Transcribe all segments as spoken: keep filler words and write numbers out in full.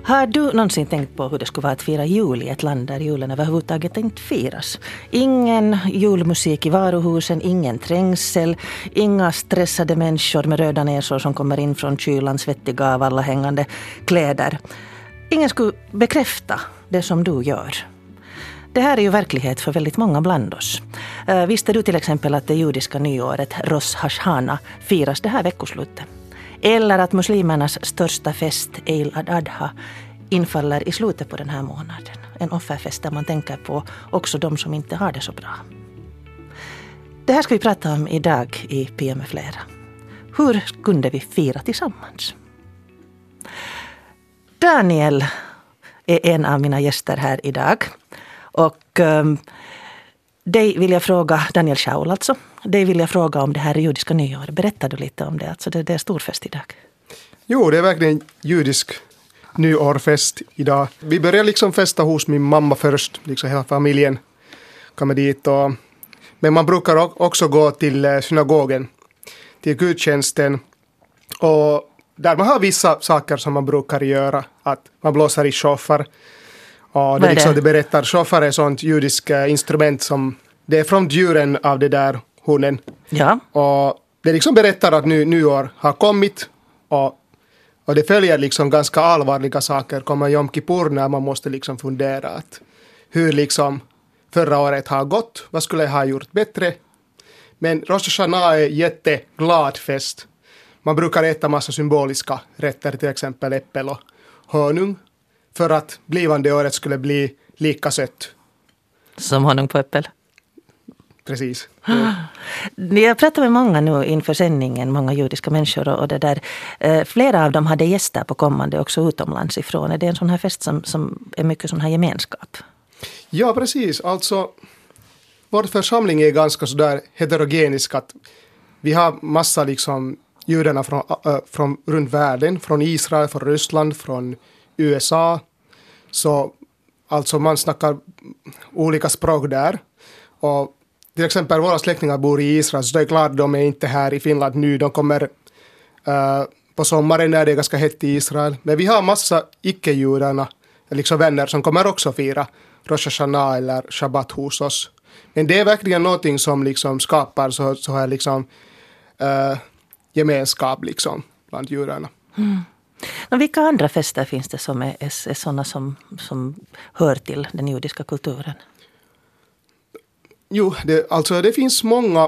Har du någonsin tänkt på hur det skulle vara att fira jul i ett land där julen överhuvudtaget inte firas? Ingen julmusik i varuhusen, ingen trängsel, inga stressade människor med röda näsor som kommer in från kylan, svettiga av alla hängande kläder. Ingen skulle bekräfta det som du gör. Det här är ju verklighet för väldigt många bland oss. Uh, visste du till exempel att det judiska nyåret Rosh Hashana firas det här veckoslutet? Eller att muslimernas största fest, Eid al-Adha, infaller i slutet på den här månaden. En offerfest där man tänker på också de som inte har det så bra. Det här ska vi prata om idag i P M med flera. Hur kunde vi fira tillsammans? Daniel är en av mina gäster här idag. Och um, dig vill jag fråga, Daniel Schaul alltså, dig vill jag fråga om det här judiska nyår. Berättar du lite om det? Alltså det, det är storfest idag. Jo, det är verkligen judisk nyårfest idag. Vi börjar liksom festa hos min mamma först, liksom hela familjen kommer dit. Och, men man brukar också gå till synagogen, till gudstjänsten. Och där man har vissa saker som man brukar göra, att man blåser i shofar. Och det, liksom, det berättar, shofar är ett sånt judiskt instrument som det är från djuren av det där hunden. Ja. Och det liksom berättar att nu, nyår har kommit och, och det följer liksom ganska allvarliga saker. Kommer Yom Kippur när man måste liksom fundera att hur liksom förra året har gått, vad skulle jag ha gjort bättre. Men Rosh Hashanah är jätteglad fest. Man brukar äta massa symboliska rätter, till exempel äppel och honung. För att blivande året skulle bli lika sött. Som honung på äppel. Precis. Mm. Jag pratar med många nu inför sändningen, många judiska människor. Och det där, eh, flera av dem hade gäster på kommande också utomlands ifrån. Är det en sån här fest som, som är mycket sån här gemenskap? Ja, precis. Alltså, vår församling är ganska sådär heterogenisk. Att vi har massa liksom judarna från, äh, från runt världen. Från Israel, från Ryssland, från U S A, så alltså man snackar olika språk där. Och till exempel våra släktingar bor i Israel, så det är klart de är inte här i Finland nu. De kommer uh, på sommaren när det är ganska hett i Israel. Men vi har massa icke-judarna, liksom vänner som kommer också fira Rosh Hashanah eller Shabbat hos oss. Men det är verkligen någonting som liksom skapar så, så här liksom uh, gemenskap liksom bland judarna. Mm. Men vilka andra fester finns det som är, är, är sådana som, som hör till den judiska kulturen? Jo, det, alltså det finns många.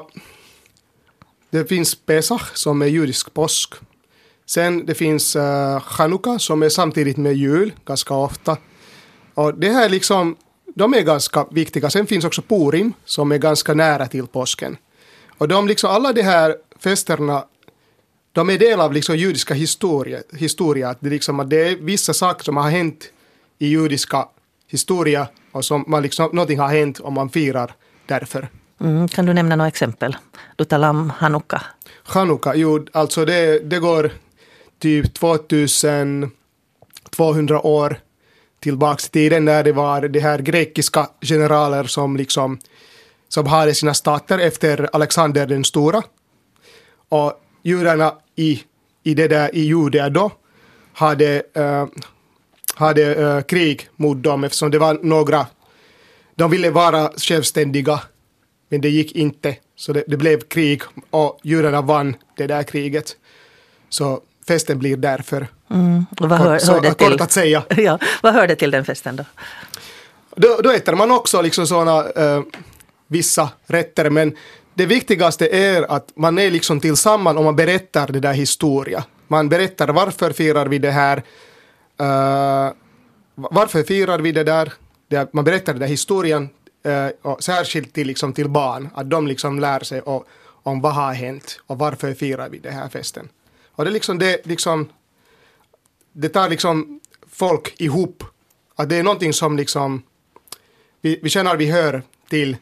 Det finns Pesach som är judisk påsk. Sen det finns uh, Chanukka som är samtidigt med jul ganska ofta. Och det här liksom, de är ganska viktiga. Sen finns också Purim som är ganska nära till påsken. Och de liksom, alla de här festerna, de är del av liksom judiska historia. historia. Det, är liksom, det är vissa saker som har hänt i judiska historia och som man liksom, någonting har hänt om man firar därför. Mm, kan du nämna några exempel? Du talar om Chanukka. Chanukka, jo, alltså det, det går typ tvåtusentvåhundra år tillbaka till tiden när det var de här grekiska generaler som liksom som hade sina stater efter Alexander den stora. Och judarna i, i det där i Judea då hade, uh, hade uh, krig mot dem eftersom det var några, de ville vara självständiga men det gick inte, så det, det blev krig och judarna vann det där kriget, så festen blir därför. Mm. Och vad hör, så, hör det kort till? Att säga. Ja, vad hör det till den festen då? Då, då äter man också liksom såna uh, vissa rätter, men det viktigaste är att man är liksom tillsammans och man berättar det där historia. Man berättar varför firar vi det här. Uh, varför firar vi det där. Det, man berättar den där historien. Uh, och särskilt till, liksom, till barn. Att de liksom lär sig och, om vad har hänt. Och varför firar vi det här festen. Och det, liksom, det, liksom, det tar liksom folk ihop. Att det är någonting som liksom, vi, vi känner vi hör till.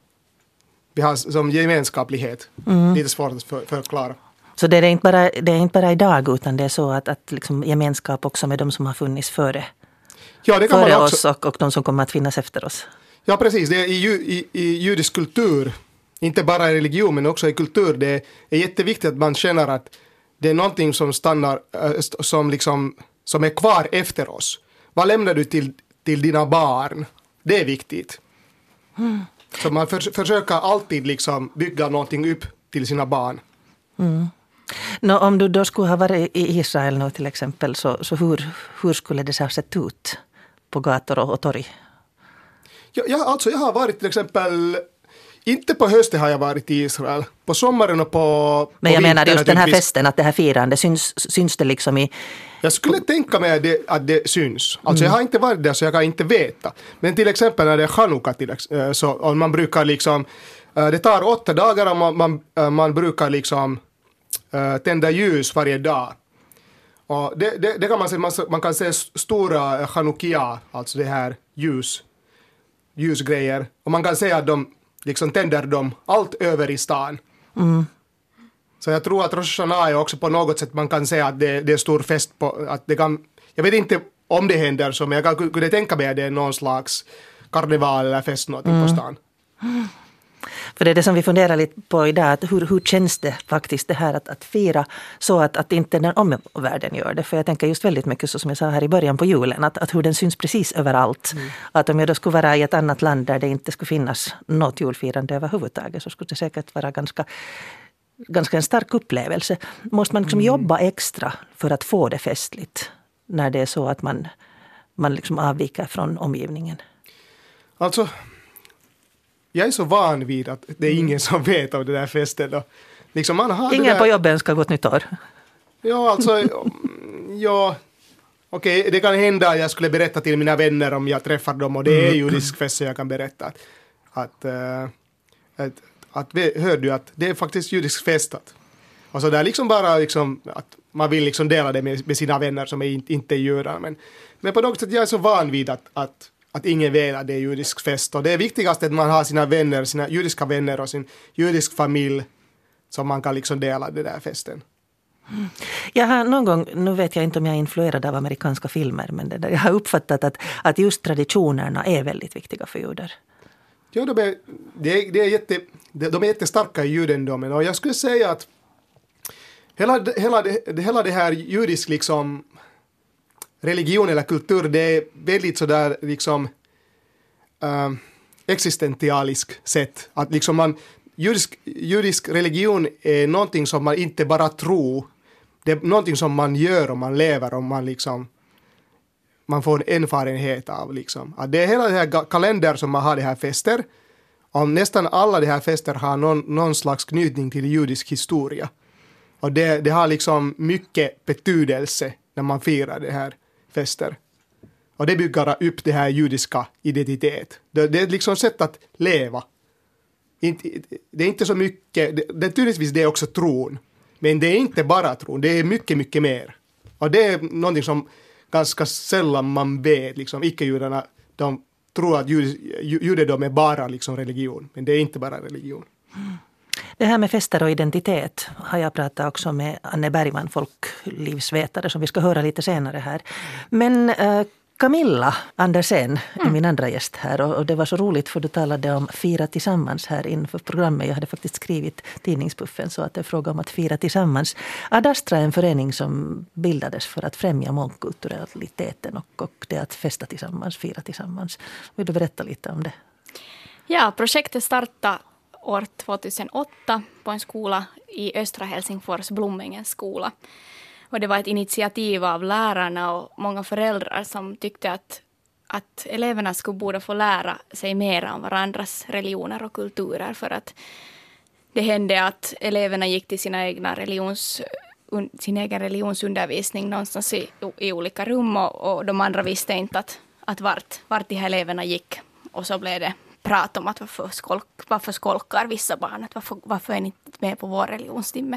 Vi har som gemenskaplighet. Mm. Lite svårt att för, förklara. Så det är inte bara, det är inte bara idag, utan det är så att, att liksom gemenskap också med de som har funnits före, ja, det kan före man också. oss och, och de som kommer att finnas efter oss. Ja, precis. Det är i, i, i judisk kultur, inte bara i religion men också i kultur, det är jätteviktigt att man känner att det är någonting som stannar, som, liksom, som är kvar efter oss. vad lämnar du till, till dina barn? Det är viktigt. Mm. Så man för, försöker alltid liksom bygga någonting upp till sina barn. Mm. Nå, om du då skulle ha varit i Israel nu till exempel, så, så hur, hur skulle det ha sett ut på gator och, och torg? Ja, ja, alltså jag har varit till exempel, inte på hösten har jag varit i Israel, på sommaren och på Men jag på menar just den här naturligtvis. festen, att det här firandet, syns, syns det liksom i... Jag skulle tänka mig att det, att det syns. Alltså mm. jag har inte varit där så jag kan inte veta. Men till exempel när det är Chanukka, till, så och man brukar liksom, det tar åtta dagar och man, man, man brukar liksom tända ljus varje dag. Och det, det, det kan man se, man, man kan se stora Chanukkia, alltså det här ljus, ljusgrejer. Och man kan se att de liksom tänder dem allt över i stan. Mm. Så jag tror att Rosh Hashanah är också på något sätt man kan säga att det, det är stor fest på, att det kan, jag vet inte om det händer så, men jag kan, kunde tänka mig att det är någon slags karneval eller fest någonting mm. på stan. Mm. För det är det som vi funderar lite på idag, att hur, hur känns det faktiskt det här att, att fira så att, att inte den omvärlden gör det. För jag tänker just väldigt mycket så som jag sa här i början på julen, att, att hur den syns precis överallt. Mm. Att om jag då skulle vara i ett annat land där det inte skulle finnas något julfirande överhuvudtaget, så skulle det säkert vara ganska, ganska en stark upplevelse. Måste man liksom mm. jobba extra för att få det festligt när det är så att man, man liksom avviker från omgivningen? Alltså... Jag är så van vid att det är ingen som vet om det där festen. Och liksom man har ingen det där... på jobben ska gå ett nytt år. Ja, alltså... ja, okej, okay, det kan hända att jag skulle berätta till mina vänner om jag träffar dem. Och det är judisk fest så jag kan berätta. Att, att, uh, att, att, att hör du att det är faktiskt judisk fest. Att, och så där liksom bara liksom, att man vill liksom dela det med, med sina vänner som är inte, inte är judar. Men, men på något sätt jag är så van vid att... att att ingen vet att det är judisk fest. Och det är viktigast att man har sina vänner, sina judiska vänner och sin judisk familj som man kan liksom dela det där festen. Mm. Jag har någon gång, nu vet jag inte om jag är influerad av amerikanska filmer, men det där, jag har uppfattat att, att just traditionerna är väldigt viktiga för judar. Ja, de är, det är, det är jätte, de är jättestarka i judendomen. Och jag skulle säga att hela, hela, det, hela det här judisk liksom... religion eller kultur, det är väldigt sådär liksom äh, existentialisk sätt. Att liksom man, judisk, judisk religion är någonting som man inte bara tror. Det är någonting som man gör och man lever och man liksom man får en erfarenhet av liksom. Att det är hela det här kalender som man har de här fester. Och nästan alla de här fester har någon, någon slags knytning till judisk historia. Och det, det har liksom mycket betydelse när man firar det här fester. Och det bygger upp det här judiska identitet. Det, det är liksom sätt att leva. Inte, det är inte så mycket, det, det, naturligtvis det är också tron. Men det är inte bara tron, det är mycket, mycket mer. Och det är någonting som ganska sällan man vet. Liksom, icke-judarna, de tror att judendom är bara liksom religion. Men det är inte bara religion. Mm. Det här med fester och identitet har jag pratat också med Anne Bergman, folklivsvetare, som vi ska höra lite senare här. Men äh, Camilla Andersen är mm. min andra gäst här, och, och det var så roligt för du talade om fira tillsammans här inför programmet. Jag hade faktiskt skrivit tidningspuffen så att det är fråga om att fira tillsammans. Adastra är en förening som bildades för att främja mångkulturaliteten och, och det att festa tillsammans, fira tillsammans. Vill du berätta lite om det? Ja, projektet startade år tjugohundraåtta på en skola i östra Helsingfors, Blommingens skola. Och det var ett initiativ av lärarna och många föräldrar som tyckte att, att eleverna skulle borde få lära sig mer om varandras religioner och kulturer. För att det hände att eleverna gick till sina egna religions, sin egen religionsundervisning någonstans i, i olika rum. Och, och de andra visste inte att, att vart, vart de här eleverna gick. Och så blev det prat om att varför, skolk, varför skolkar vissa barn, att varför, varför är ni inte med på vår religionstimme.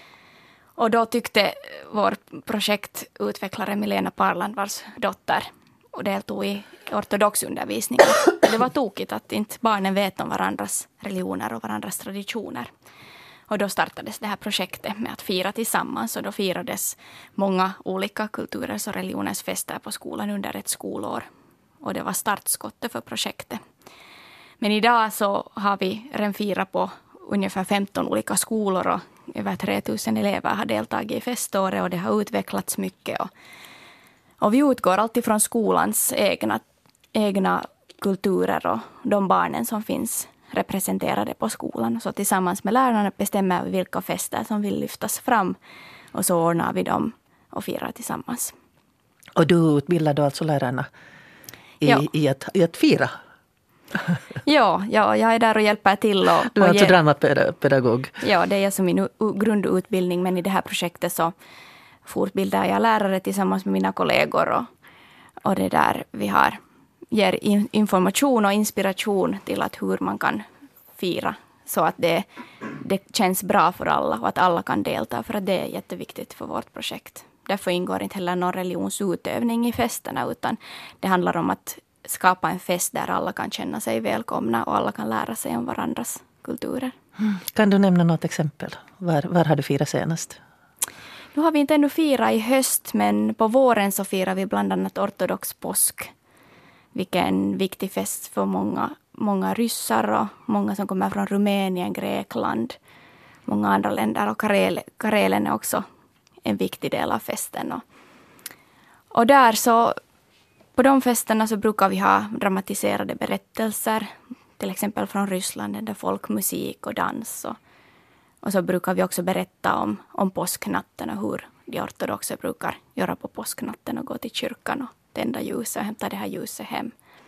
Och då tyckte vår projektutvecklare Milena Parland, vars dotter och deltog i ortodox undervisning. Det var tokigt att inte barnen vet om varandras religioner och varandras traditioner. Och då startades det här projektet med att fira tillsammans, och då firades många olika kulturers och religioners fester på skolan under ett skolår. Och det var startskottet för projektet. Men idag så har vi redan firat på ungefär femton olika skolor och över tre tusen elever har deltagit i feståret, och det har utvecklats mycket. Och, Och vi utgår alltid från skolans egna, egna kulturer och de barnen som finns representerade på skolan. Så tillsammans med lärarna bestämmer vi vilka fester som vill lyftas fram. Och så ordnar vi dem och firar tillsammans. Och du utbildar då alltså lärarna i, ja. i, att, i att fira? ja, ja, jag är där och hjälper till. Och, du är och alltså ge... dramapedagog? Ja, det är som min grundutbildning. Men i det här projektet så fortbildar jag lärare tillsammans med mina kollegor. Och, och det där vi har ger information och inspiration till att hur man kan fira. Så att det, det känns bra för alla och att alla kan delta. För att det är jätteviktigt för vårt projekt. Därför ingår inte heller någon religionsutövning i festerna. Utan det handlar om att skapa en fest där alla kan känna sig välkomna. Och alla kan lära sig om varandras kulturer. Mm. Kan du nämna något exempel? Var, var har du firat senast? Nu har vi inte ännu firat i höst. Men på våren så firar vi bland annat ortodox påsk. Vilken viktig fest för många, många ryssar och många som kommer från Rumänien, Grekland, många andra länder. Och Karel, Karelen är också en viktig del av festen. Och, och där så, på de festerna så brukar vi ha dramatiserade berättelser. Till exempel från Ryssland, där folkmusik och dans. Och, och så brukar vi också berätta om, om påsknatten och hur de ortodoxa brukar göra på påsknatten och gå till kyrkan och tända ljuset och hämta det här ljuset hem.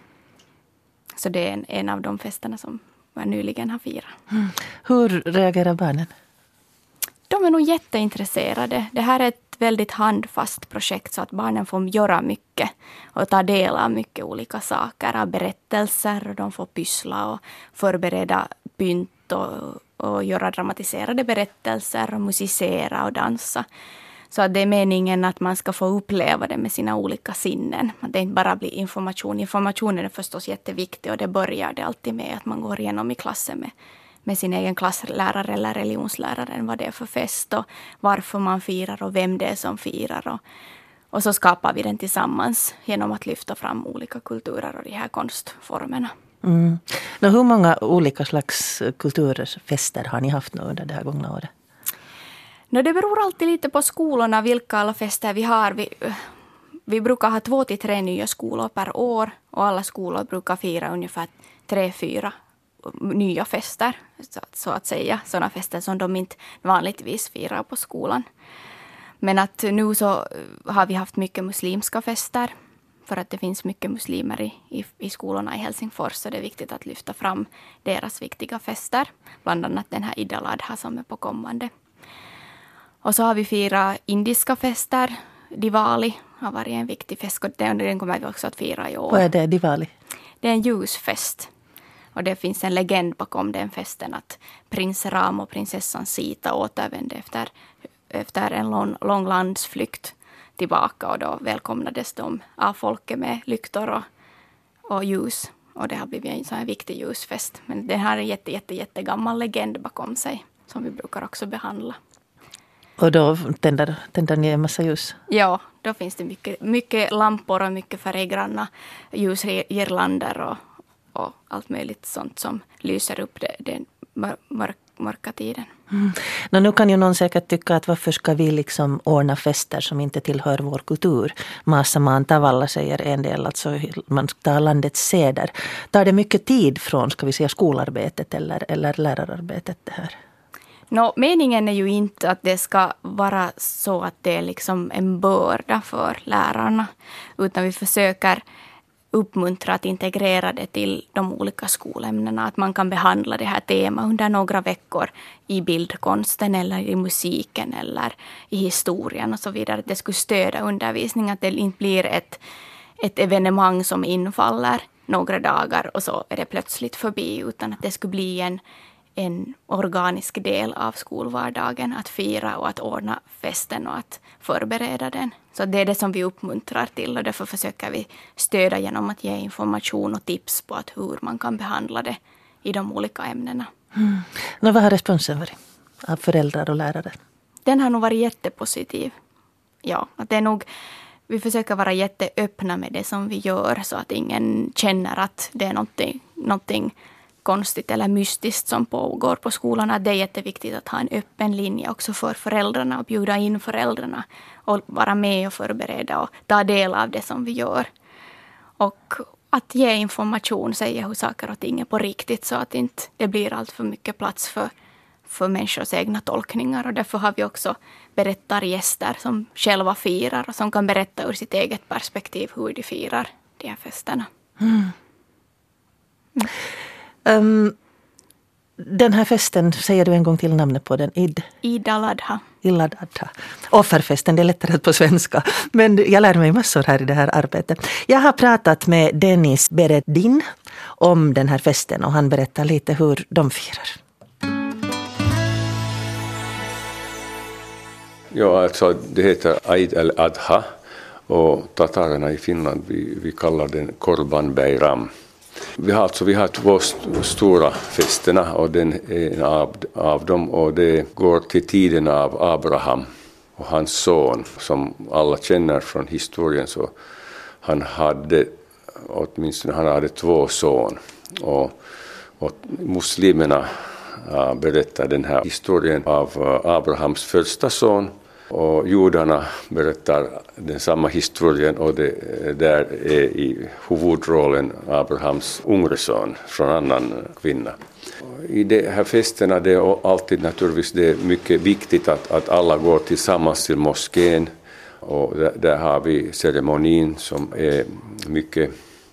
Så det är en, en av de festerna som jag nyligen har firat. Mm. Hur reagerar barnen? De är nog jätteintresserade. Det här är ett väldigt handfast projekt så att barnen får göra mycket och ta del av mycket olika saker, av berättelser, och de får pyssla och förbereda pynt och, och göra dramatiserade berättelser och musicera och dansa. Så att det är meningen att man ska få uppleva det med sina olika sinnen. Att det inte bara blir information. Informationen är förstås jätteviktig och det börjar det alltid med att man går igenom i klassen med, med sin egen klasslärare eller religionslärare. Vad det är för fest och varför man firar och vem det är som firar. Och, och så skapar vi den tillsammans genom att lyfta fram olika kulturer och de här konstformerna. Mm. Nå, hur många olika slags kulturfester har ni haft nu under det här gångna året? No, det beror alltid lite på skolorna vilka alla fester vi har. Vi, vi brukar ha två till tre nya skolor per år. Och alla skolor brukar fira ungefär tre, fyra nya fester. Så, så att säga. Sådana fester som de inte vanligtvis firar på skolan. Men att nu så har vi haft mycket muslimska fester. För att det finns mycket muslimer i, i, i skolorna i Helsingfors. Så det är viktigt att lyfta fram deras viktiga fester. Bland annat den här Eid al-Adha som är på kommande. Och så har vi firat indiska fester. Diwali har varit en viktig fest. Och den kommer vi också att fira i år. Vad är det, Diwali? Det är en ljusfest. Och det finns en legend bakom den festen. Att prins Ram och prinsessan Sita återvände efter, efter en lång, lång landsflykt tillbaka. Och då välkomnades de av folket med lyktor och, och ljus. Och det har blivit en sån här viktig ljusfest. Men den har en jätte, jätte, jätte gammal legend bakom sig. Som vi brukar också behandla. Och då tänder, tänder ni en massa ljus? Ja, då finns det mycket, mycket lampor och mycket färggranna ljusgirlander och, och allt möjligt sånt som lyser upp det, den mörk, mörka tiden. Mm. Nå, nu kan ju någon säkert tycka att varför ska vi liksom ordna fester som inte tillhör vår kultur? Massa man tavalla säger en del, alltså man tar landets seder. Tar det mycket tid från, ska vi säga, skolarbetet eller, eller lärararbetet det här? No, meningen är ju inte att det ska vara så att det är liksom en börda för lärarna. Utan vi försöker uppmuntra att integrera det till de olika skolämnena. Att man kan behandla det här temat under några veckor i bildkonsten eller i musiken eller i historien och så vidare. Att det skulle stödja undervisning. Att det inte blir ett, ett evenemang som infaller några dagar och så är det plötsligt förbi. Utan att det skulle bli en en organisk del av skolvardagen att fira och att ordna festen och att förbereda den. Så det är det som vi uppmuntrar till och därför försöker vi stödja genom att ge information och tips på att hur man kan behandla det i de olika ämnena. Mm. Nå, vad har responsen varit av föräldrar och lärare? Den har nog varit jättepositiv. Ja, att det är nog, vi försöker vara jätteöppna med det som vi gör så att ingen känner att det är någonting, någonting konstigt eller mystiskt som pågår på skolan. Att det är jätteviktigt att ha en öppen linje också för föräldrarna och bjuda in föräldrarna och vara med och förbereda och ta del av det som vi gör. Och att ge information, säga hur saker och ting är på riktigt så att inte det blir allt för mycket plats för, för människors egna tolkningar. Och därför har vi också berättargäster som själva firar och som kan berätta ur sitt eget perspektiv hur de firar de här festerna. Mm. Mm. Um, den här festen, säger du en gång till namnet på den? Id? Id al-Adha. Id al-Adha. Offerfesten, det är lättare på svenska. Men jag lär mig massor här i det här arbetet. Jag har pratat med Dennis Bereddin om den här festen och han berättar lite hur de firar. Ja, alltså det heter Eid al-Adha och tatarerna i Finland, vi, vi kallar den Korban Bayram. Vi har, alltså, vi har två st- stora festerna och den är en av, av dem och det går till tiden av Abraham och hans son som alla känner från historien. Så han hade åtminstone han hade två son och, och muslimerna äh, berättar den här historien av äh, Abrahams första son. Och judarna berättar den samma historien och det där är i huvudrollen Abrahams yngre son från en annan kvinna. I de här festerna det är alltid naturligtvis det är mycket viktigt att, att alla går tillsammans till moskén och där, där har vi ceremonin som är mycket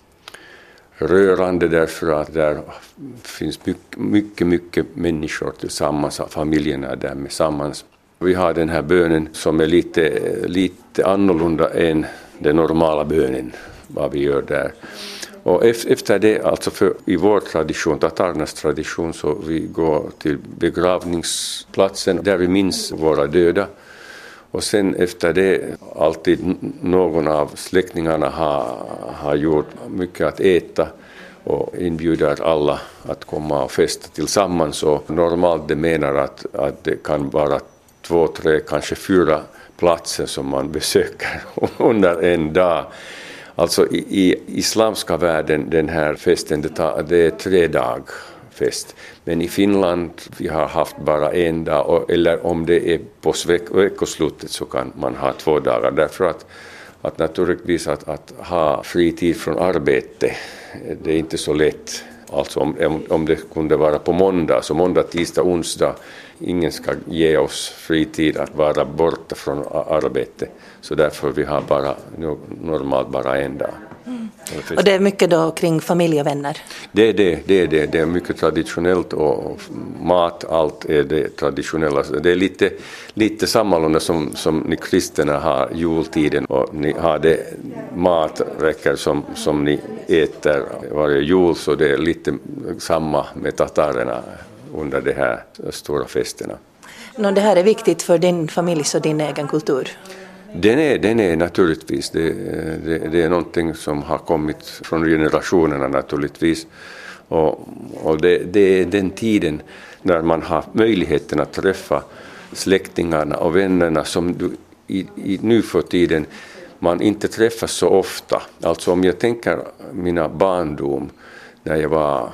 rörande därför att där finns mycket, mycket, mycket människor tillsammans, familjerna är där tillsammans. Vi har den här bönen som är lite, lite annorlunda än den normala bönen, vad vi gör där. Och efter det, alltså för, i vår tradition, tatarernas tradition, så vi går till begravningsplatsen där vi minns våra döda. Och sen efter det, alltid någon av släktingarna har, har gjort mycket att äta och inbjuder alla att komma och festa tillsammans. Och normalt det menar att, att det kan vara två, tre, kanske fyra platser som man besöker under en dag. Alltså i, i islamska världen, den här festen, det, tar, det är tre dag fest. Men i Finland vi har haft bara en dag, och, eller om det är på veckoslutet så kan man ha två dagar. Därför att, att naturligtvis att, att ha fritid från arbete, det är inte så lätt. Alltså om, om det kunde vara på måndag, så måndag, tisdag, onsdag, ingen ska ge oss fritid att vara borta från arbete. Så därför vi har bara, normalt bara en dag. Mm. Och det är mycket då kring familj och vänner? Det är det, det är det. Det är mycket traditionellt och mat, allt är det traditionella. Det är lite, lite sammalunda som, som ni kristna har jultiden och ni har det maträcker som, som ni äter varje jul, så det är lite samma med tatarerna under de här stora festerna. No, det här är viktigt för din familj och din egen kultur? Den är, den är naturligtvis, det, det, det är någonting som har kommit från generationerna naturligtvis. Och, och det, det är den tiden när man har möjligheten att träffa släktingarna och vännerna som du, i, i, nu för tiden man inte träffas så ofta. Alltså om jag tänker mina barndom när jag var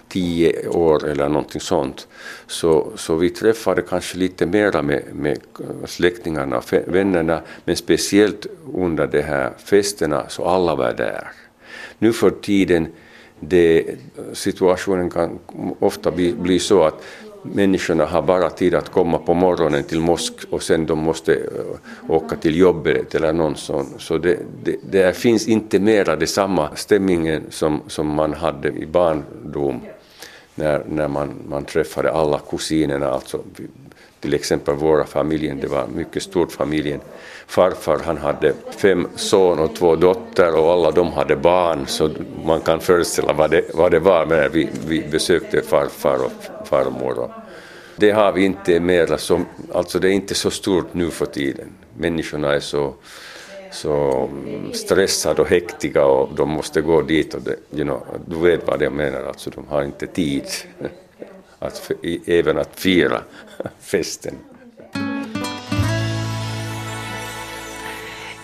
tio år eller någonting sånt, så, så vi träffade kanske lite mera med, med släktingarna och vännerna, men speciellt under de här festerna så alla var där. Nu för tiden det, situationen kan ofta bli, bli så att människorna har bara tid att komma på morgonen till mosk och sen de måste åka till jobbet eller någon sån. Så det, det, det finns inte mera det samma stämningen som, som man hade i barndom när, när man, man träffade alla kusinerna. Alltså, till exempel våra familjen, det var mycket stort familjen. Farfar han hade fem son och två dotter och alla de hade barn, så man kan föreställa vad det, vad det var när vi, vi besökte farfar och farmor. Och det har vi inte mer, som, alltså det är inte så stort nu för tiden. Människorna är så, så stressade och hektiga och de måste gå dit och det, you know, du vet vad jag menar, alltså de har inte tid att, även att fira festen.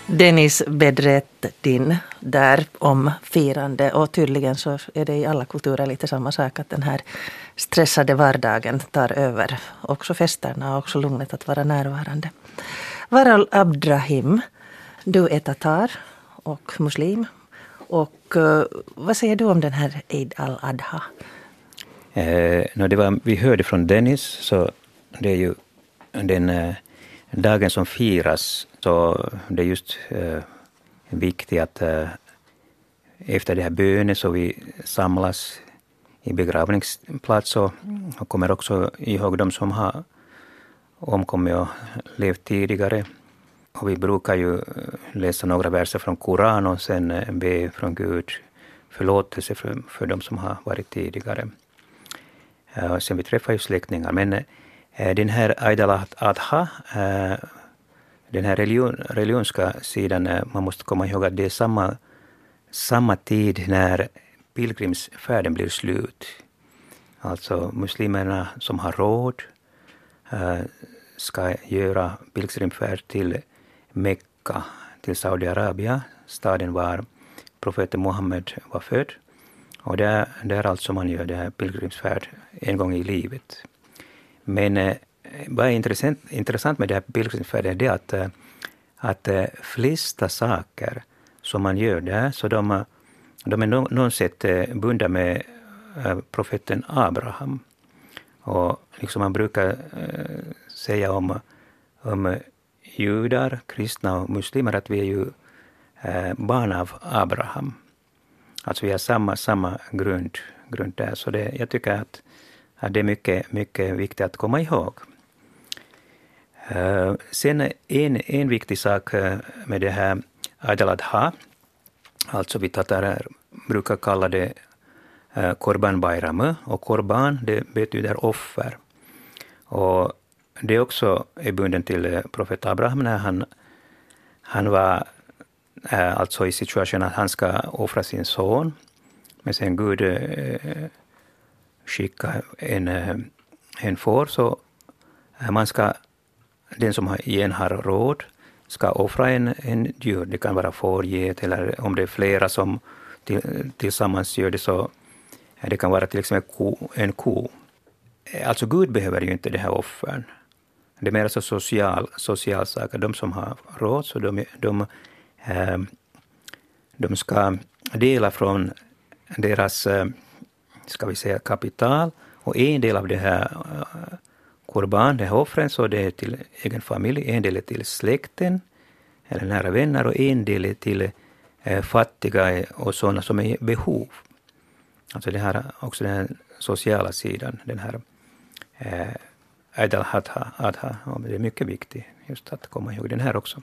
Dennis Bedrettin där om firande, och tydligen så är det i alla kulturer lite samma sak att den här stressade vardagen tar över också festerna och också lugnet att vara närvarande. Waral Abdrahim, du är tatar och muslim, och uh, vad säger du om den här Eid al-Adha? Eh, no, det var, vi hörde från Dennis, så det är ju den eh, dagen som firas, så det är just eh, viktigt att eh, efter det här bönen så vi samlas i begravningsplats och, och kommer också ihåg de som har omkommit och levt tidigare. Och vi brukar ju läsa några verser från Koran och sen be från Gud förlåtelse för, för de som har varit tidigare. Uh, sen vi träffar ju släktingar. Men uh, den här Eid al-Adha, uh, den här religion, religionska sidan, uh, man måste komma ihåg att det är samma, samma tid när pilgrimsfärden blir slut. Alltså muslimerna som har råd uh, ska göra pilgrimsfärd till Mekka, till Saudiarabien, staden var profeten Muhammed var född. Och det är, det är alltså man gör det här pilgrimsfärd en gång i livet. Men eh, vad är intressant, intressant med det här pilgrimsfärden är det att, eh, att eh, flesta saker som man gör där, så de, de är no, någon sätt eh, bundna med eh, profeten Abraham. Och liksom man brukar eh, säga om, om judar, kristna och muslimer att vi är ju eh, barn av Abraham. Alltså vi har samma, samma grund, grund där. Så det, jag tycker att, att det är mycket, mycket viktigt att komma ihåg. Uh, sen en, en viktig sak med det här Eid al-Adha, alltså vi tatar brukar kalla det uh, Korban Bayram, och Korban det betyder offer. Och det också är bunden till profet Abraham när han, han var Uh, alltså i situationen att han ska offra sin son. Men sen Gud uh, skickar en, uh, en får, så uh, man ska, den som har, igen har råd ska offra en, en djur. Det kan vara får, get, eller om det är flera som till, tillsammans gör det, så uh, det kan vara till exempel ko, en ko. Alltså Gud behöver ju inte det här offern. Det är mer så social, social saker. De som har råd, så de, de de ska dela från deras, ska vi säga, kapital, och en del av det här korban, det här offren, så det är till egen familj, en del är till släkten eller nära vänner, och en del är till fattiga och sådana som är i behov. Alltså det här också den här sociala sidan, den här Eid al-Adha, det är mycket viktigt just att komma ihåg den här också.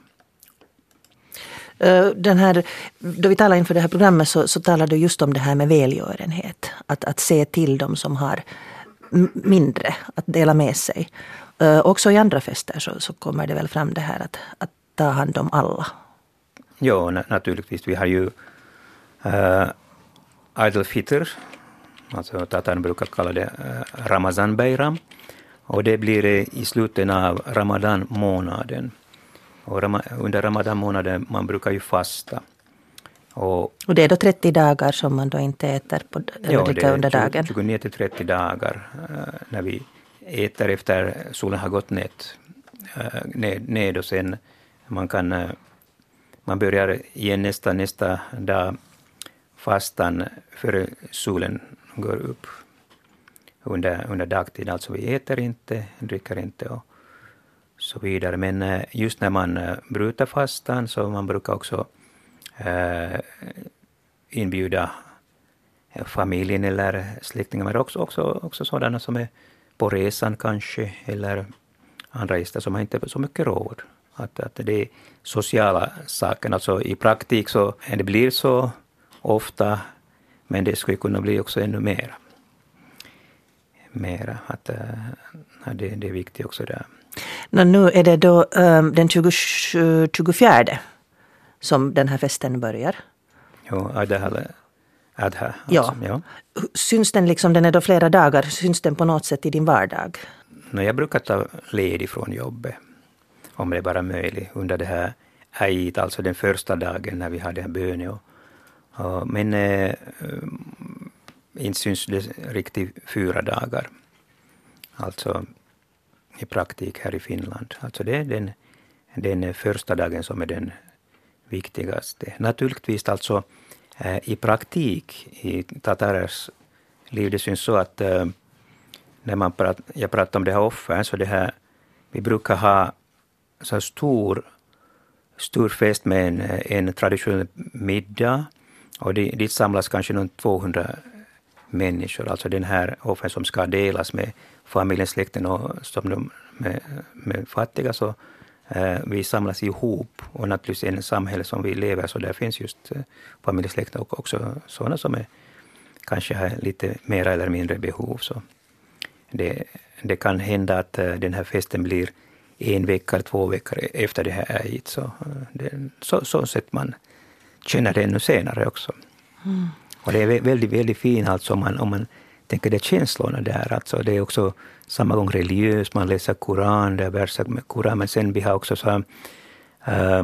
Den här, då vi talar inför det här programmet så, så talar du just om det här med välgörenhet. Att, att se till dem som har mindre, att dela med sig. Uh, också i andra fester så, så kommer det väl fram det här att, att ta hand om alla. Ja, naturligtvis. Vi har ju uh, Eid al-Fitr, alltså tatarn brukar kalla det uh, Ramazan Bayram. Och det blir uh, i slutet av Ramadan månaden. Och under Ramadan-månaden man brukar ju fasta. Och, och det är då trettio dagar som man då inte äter på, eller dricker under dagen? tjugonio till trettio dagar uh, när vi äter efter solen har gått ned, uh, ned, ned och sen man kan uh, man börjar igen nästa, nästa dag fastan före solen går upp under, under dagtid. Alltså vi äter inte, dricker inte och så vidare. Men just när man bryter fastan så man brukar också eh, inbjuda familjen eller släktingar, men också, också, också sådana som är på resan kanske, eller andra gäster som har inte så mycket råd. Att, att det är sociala saker. Alltså i praktik så det blir så ofta, men det skulle kunna bli också ännu mer. Mera. Att, att det, det är viktigt också där. No, nu är det då um, den tjugofjärde som den här festen börjar. Jo, Adha. Adha alltså, ja. ja. Syns den liksom, den är då flera dagar, syns den på något sätt i din vardag? No, jag brukar ta ledig från jobbet, om det är bara möjligt, under det här Eid, alltså den första dagen när vi hade en bön. Och, och, men äh, inte syns det riktigt fyra dagar. Alltså i praktik här i Finland. Alltså det är den, den första dagen som är den viktigaste. Naturligtvis alltså äh, i praktik i tatarers liv, det syns så att äh, när man prat, jag pratar om det här offren, så det här, vi brukar ha så stor, stor fest med en, en traditionell middag, och det, dit samlas kanske någon tvåhundra människor, alltså den här offren som ska delas med familjen, släkten och som de, med, med fattiga, så eh, vi samlas ihop, och naturligtvis i en samhälle som vi lever, så där finns just eh, familjesläkten och också sådana som är, kanske har lite mer eller mindre behov. Så det, det kan hända att uh, den här festen blir en vecka eller två veckor efter det här Eid. Så, uh, det, så, så sätt man känner det ännu senare också. Mm. Och det är väldigt, väldigt fint alltså om man, om man tänker det känslorna där. Alltså det är också samma gång religiöst, man läser Koran, det är verser med Koran, men sen vi har också så här, uh,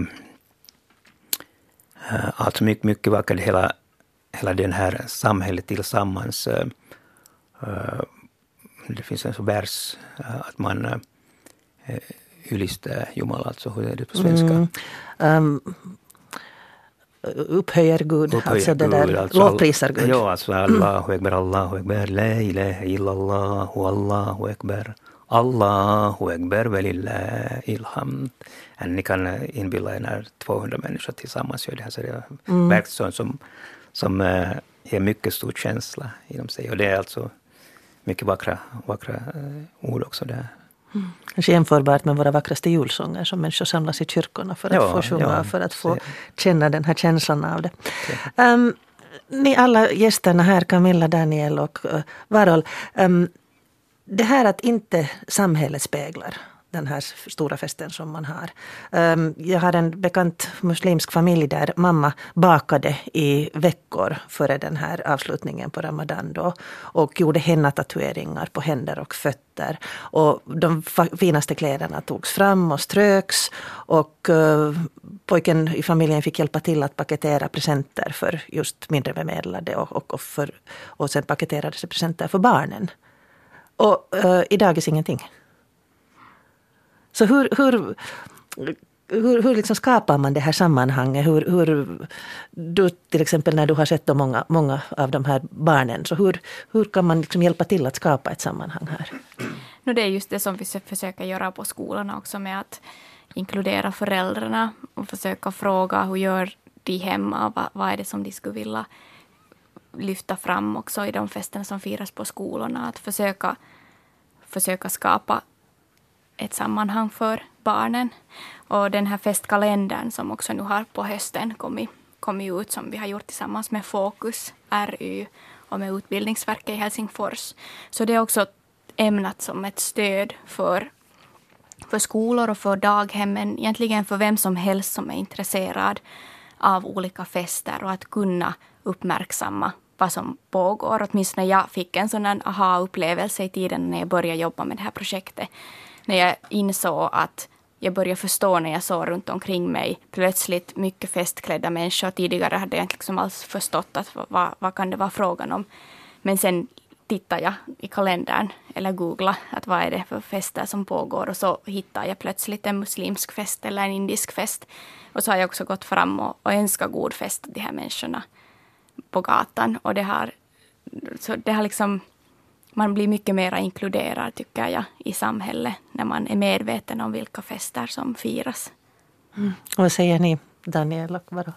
uh, alltså mycket, mycket vackert hela, hela den här samhället tillsammans. Uh, uh, Det finns en så vers att man äh, ylistar Jumala, alltså hur är det på svenska? Mm. Um, upphöjer Gud, upphöjer alltså det Gud, där, alltså, lovprisar Gud. Ja, alltså Allahu Ekber, Allahu Ekber, la ilaha illallahu, Allahu Ekber, Allahu Ekber, velillahi ilhamd. Ni kan inbilla er när tvåhundra människor tillsammans gör det här, så det är mm. verkligen som, som äh, ger mycket stor känsla inom sig, och det är alltså mycket vackra, vackra uh, ord också där. Mm. Kanske jämförbart med våra vackraste julsånger som människor samlas i kyrkorna för att ja, få sjunga, ja, för att få se. Känna den här känslan av det. Um, ni alla gästerna här, Camilla, Daniel och uh, Varol, um, det här att inte samhället speglar den här stora festen som man har. Um, jag har en bekant muslimsk familj där mamma bakade i veckor före den här avslutningen på Ramadan då, och gjorde henna-tatueringar på händer och fötter. Och de finaste kläderna togs fram och ströks, och uh, pojken i familjen fick hjälpa till att paketera presenter för just mindre bemedlade, och, och, och, för, och sen paketerades presenter för barnen. Och uh, idag är ingenting. Så hur, hur, hur, hur liksom skapar man det här sammanhanget? Hur, hur, du, till exempel när du har sett många, många av de här barnen, så hur, hur kan man liksom hjälpa till att skapa ett sammanhang här? No, det är just det som vi försöker göra på skolorna också, med att inkludera föräldrarna och försöka fråga hur gör de hemma, vad, vad är det som de skulle vilja lyfta fram också i de festerna som firas på skolorna. Att försöka, försöka skapa ett sammanhang för barnen. Och den här festkalendern som också nu har på hösten kommit, kommit ut, som vi har gjort tillsammans med Fokus, R Y och med Utbildningsverket i Helsingfors. Så det är också ämnat som ett stöd för, för skolor och för daghemmen, egentligen för vem som helst som är intresserad av olika fester, och att kunna uppmärksamma vad som pågår. Åtminstone jag fick en sån aha-upplevelse i tiden när jag började jobba med det här projektet. När jag insåg att jag började förstå när jag såg runt omkring mig plötsligt mycket festklädda människor. Tidigare hade jag inte liksom alls förstått att vad, vad kan det vara frågan om. Men sen tittade jag i kalendern eller googlade att vad är det för fester som pågår, och så hittade jag plötsligt en muslimsk fest eller en indisk fest. Och så har jag också gått fram och, och önskat god fest till de här människorna på gatan. Och det har, så det har liksom... Man blir mycket mer inkluderad, tycker jag, i samhället när man är medveten om vilka fester som firas. Mm. Och vad säger ni, Daniel och Varol?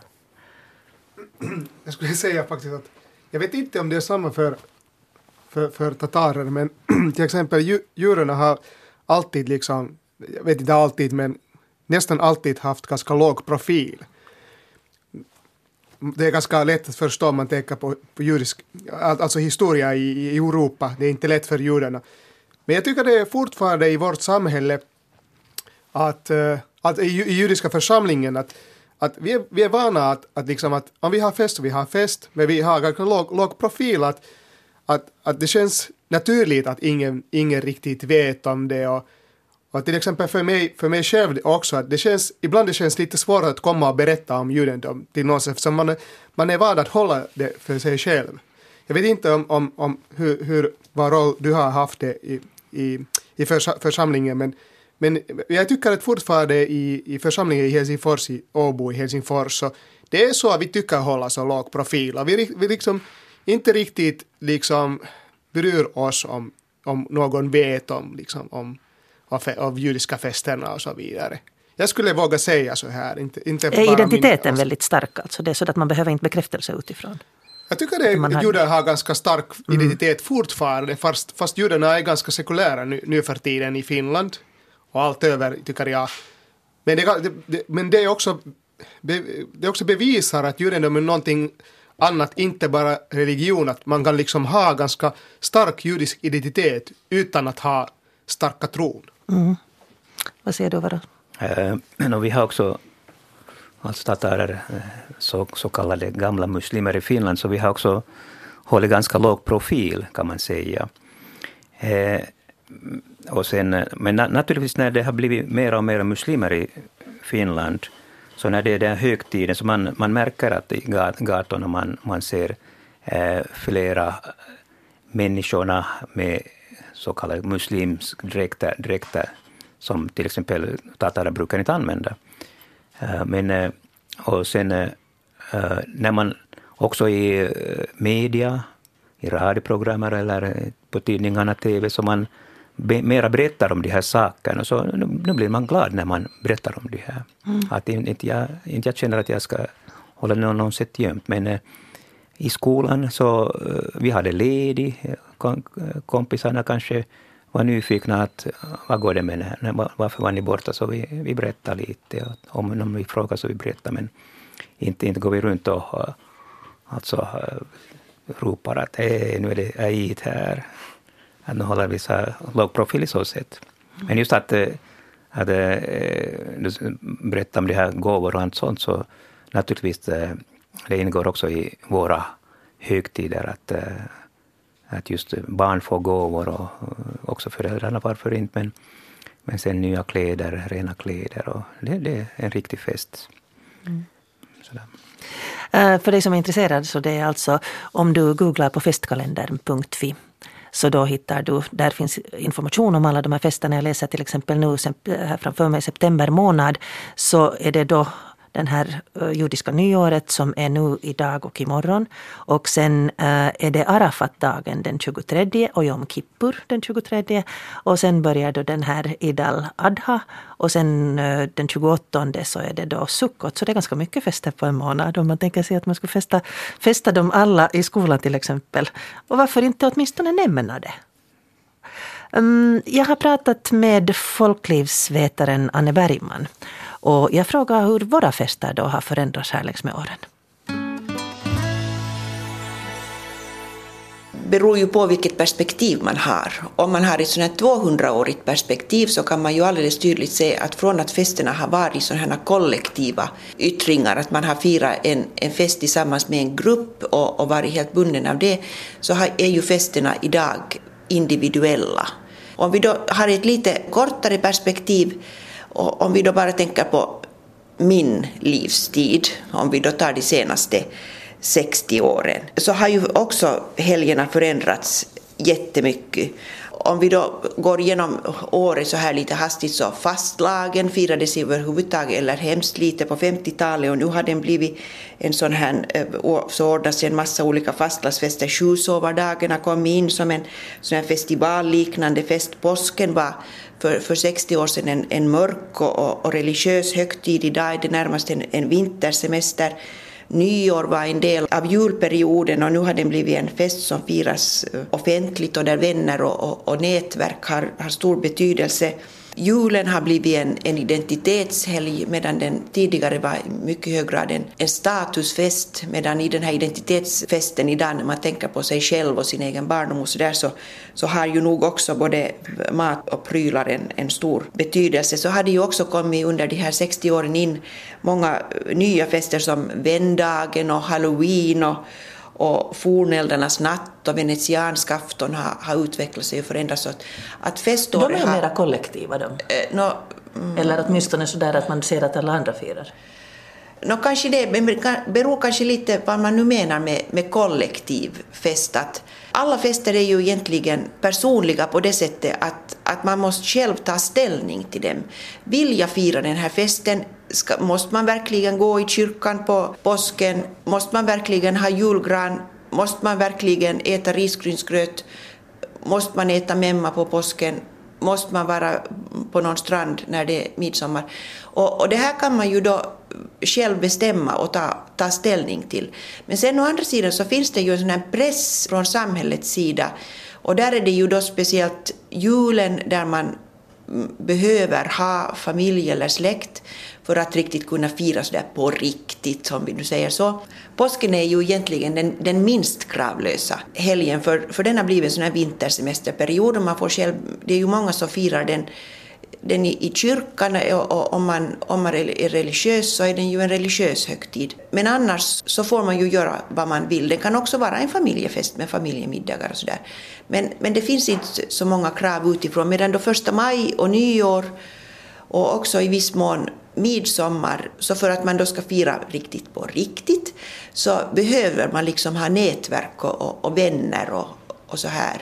Jag skulle säga faktiskt att jag vet inte om det är samma för, för, för tatarer, men till exempel ju, djuren har alltid liksom, jag vet inte alltid, men nästan alltid haft ganska låg profil. Det är ganska lätt att förstå om man tänker på, på judisk, alltså historia i, i Europa. Det är inte lätt för judarna. Men jag tycker det är fortfarande i vårt samhälle att, att i, i judiska församlingen att, att vi, är, vi är vana att, att, liksom att om vi har fest så vi har fest, men vi har ganska låg, låg profil. Att, att, att det känns naturligt att ingen, ingen riktigt vet om det, och Och till exempel för mig, för mig själv också, att det känns, ibland det känns lite svårt att komma och berätta om judendom till någon, eftersom man, man är van att hålla det för sig själv. Jag vet inte om, om, om hur, hur, vad roll du har haft det i, i, i församlingen, men, men jag tycker att fortfarande i, i församlingen i Helsingfors, i Åbo i Helsingfors, så det är så att vi tycker hålla så låg profil. Och vi, vi liksom inte riktigt liksom bryr oss om, om någon vet om, liksom, om av, av judiska festerna och så vidare. Jag skulle våga säga så här. Inte, inte är bara identiteten min, väldigt stark? Alltså det är så att man behöver inte bekräftelse utifrån? Jag tycker att judar har ganska stark identitet mm. fortfarande, fast, fast judarna är ganska sekulära nu, nu för tiden i Finland. Och allt över, tycker jag. Men det, det, men det är också, det är också bevisar att judendom är någonting annat, inte bara religion. Att man kan liksom ha ganska stark judisk identitet utan att ha starka tron. Mm. Vad säger du, Vara? Uh, vi har också alltså tatarer, så, så kallade gamla muslimer i Finland, så vi har också hållit ganska låg profil, kan man säga. Uh, och sen, men na- naturligtvis när det har blivit mer och mer muslimer i Finland, så när det är den högtiden, så man, man märker att i gatorna man, man ser uh, flera människorna med så kallade muslimsk dräkter, dräkter som till exempel tatarer brukar inte använda. Uh, men, uh, och sen uh, när man också i uh, media, i radioprogram eller på tidningarna, tv, så man be, mera berättar om de här sakerna, så nu, nu blir man glad när man berättar om det här. Mm. Att inte jag, inte jag känner att jag ska hålla någon, någon sätt gömt, men uh, i skolan så uh, vi hade ledig, kom, kompisarna kanske var nyfikna att vad går det med det här? Varför var ni borta? Så vi, vi berättar lite. Om någon vi frågar så vi berättar, men inte, inte går vi runt och alltså, ropar att hej, nu är det Eid här. Att nu håller vi så här låg profil i så sätt. Men just att, att du berättar om det här gåvor och allt sånt, så naturligtvis det ingår också i våra högtider att att just barn får gåvor och också föräldrarna, varför inte, men, men sen nya kläder, rena kläder, och det, det är en riktig fest. Mm. Sådär. Uh, för dig som är intresserad, så det är alltså om du googlar på festkalendern punkt fi, så då hittar du, där finns information om alla de här festerna. Jag läser till exempel nu här framför mig september månad, så är det då den här uh, judiska nyåret som är nu idag och imorgon. Och sen uh, är det Arafat-dagen den tjugotredje och Yom Kippur den tjugotredje. Och sen börjar då den här Eid al-Adha. Och sen uh, den tjugoåttonde så är det då Sukkot. Så det är ganska mycket fester på en månad. Om man tänker sig att man ska festa, festa dem alla i skolan till exempel. Och varför inte åtminstone nämna det? Um, jag har pratat med folklivsvetaren Anne Bergman. Och jag frågar hur våra fester då har förändrats här längs med åren. Beror ju på vilket perspektiv man har. Om man har ett sådant här tvåhundraårigt perspektiv, så kan man ju alldeles tydligt se att från att festerna har varit sådana här kollektiva yttringar, att man har firat en, en fest tillsammans med en grupp och, och varit helt bunden av det, så har, är ju festerna idag individuella. Om vi då har ett lite kortare perspektiv, och om vi då bara tänker på min livstid, om vi då tar de senaste sextio åren, så har ju också helgerna förändrats jättemycket. Om vi då går igenom året så här lite hastigt, så fastlagen firades överhuvudtaget eller hemskt lite på femtiotalet, och nu har den blivit en sån här, så ordnas en massa olika fastlagsfester. Sjusovardagen har kommit in som en sån här festivalliknande fest. Påsken var för, för sextio år sedan en, en mörk och, och religiös högtid. Idag är det närmast en, en vintersemester. Nyår var en del av julperioden, och nu har den blivit en fest som firas offentligt och där vänner och, och, och nätverk har, har stor betydelse. Julen har blivit en, en identitetshelg, medan den tidigare var mycket hög grad en, en statusfest, medan i den här identitetsfesten idag, när man tänker på sig själv och sin egen barndom och så där, så, så har ju nog också både mat och prylar en, en stor betydelse. Så har det ju också kommit under de här sextio åren in många nya fester som vändagen och halloween och och forneldarnas natt och venetiansk afton har, har utvecklat sig och förändrats. Så att, att feståret de är har, mera kollektiva de. Eh, no, mm, Eller åtminstone så där att man ser att alla andra firar. no, kanske det beror kanske lite vad man nu menar med, med kollektiv fest. Att alla fester är ju egentligen personliga på det sättet att, att man måste själv ta ställning till dem. Vill jag fira den här festen? Ska, måste man verkligen gå i kyrkan på påsken? Måste man verkligen ha julgran? Måste man verkligen äta risgrynsgröt? Måste man äta memma på påsken? Måste man vara på någon strand när det är midsommar? Och, och det här kan man ju då själv bestämma och ta, ta ställning till. Men sen å andra sidan så finns det ju en sån här press från samhällets sida. Och där är det ju då speciellt julen där man behöver ha familj eller släkt för att riktigt kunna fira så där på riktigt, som vi nu säger så. Påsken är ju egentligen den, den minst kravlösa helgen, för, för den har blivit en sån här vintersemesterperiod och man får själv, det är ju många som firar den, den i, i kyrkan, och, och om, man, om man är religiös så är den ju en religiös högtid. Men annars så får man ju göra vad man vill. Det kan också vara en familjefest med familjemiddagar och sådär. Men, men det finns inte så många krav utifrån, medan då första maj och nyår och också i viss mån midsommar, så för att man då ska fira riktigt på riktigt så behöver man liksom ha nätverk och, och, och vänner och, och så här.